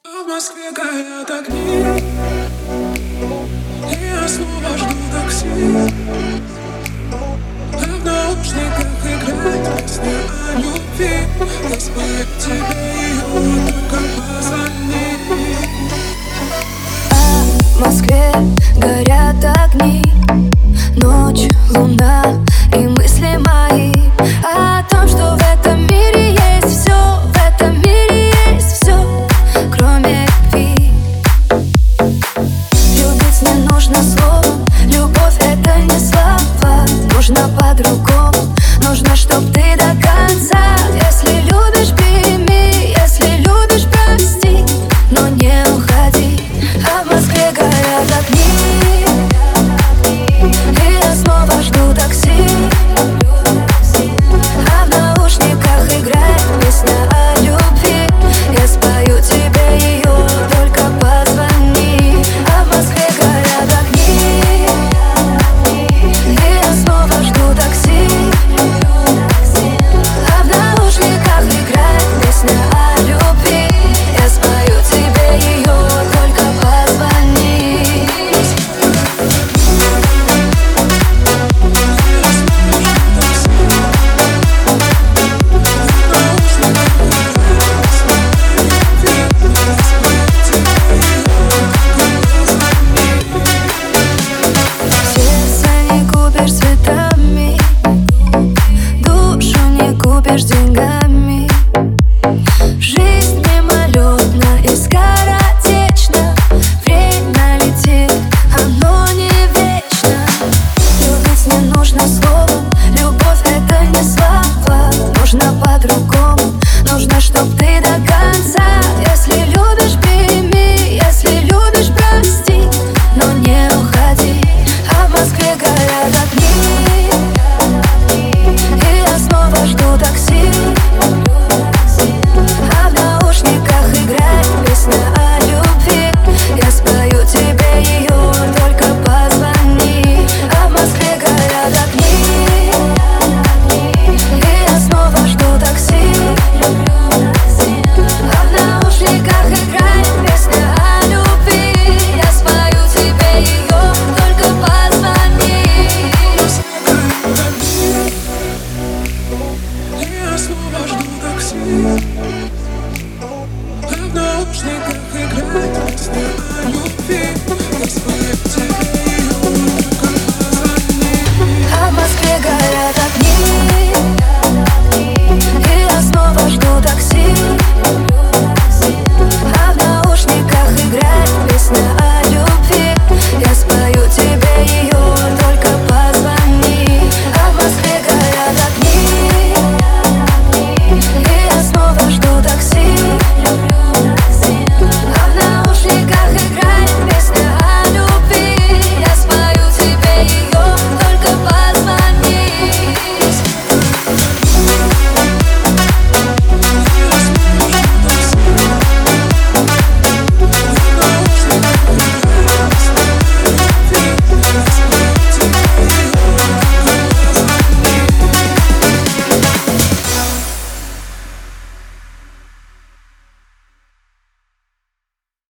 А в Москве горят огни, и я снова жду такси. А в наушниках играет песня о любви. Я спою тебе ее, только позвони. А в Москве горят огни, ночь, луна и мысли мои о том, что в этом мире есть все, в этом мире есть все, кроме любви. Любить не нужно словом, любовь это не слова. Нужно по-другому, нужно, чтоб ты до конца. Если любишь, прими, если любишь, прости, но не уходи. А в Москве горят огни, и я снова жду такси. А в наушниках играет песня о любви. Я спою тебе ее, только позвони. А в Москве горят огни, и я снова жду такси. А в наушниках играет песня о любви. Я спою тебе ее, только позвони. Сердце не купишь цветами, душу не купишь деньгами. Жизнь мимолетна и скоротечна, время летит, оно не вечно. Любить не нужно словом, любовь это не слова. Нужно по-другому, нужно, чтоб ты до конца. Если любишь, прими, если любишь, прости, но не уходи. А в Москве горят огни, и я снова жду такси. А в наушниках играет песня о любви. Я спою тебе ее, только позвони. А в Москве горят огни, и я снова жду такси. А в наушниках играет песня о любви. Я спою тебе ее, только позвони. И я снова жду такси. А в наушниках играет песня о любви.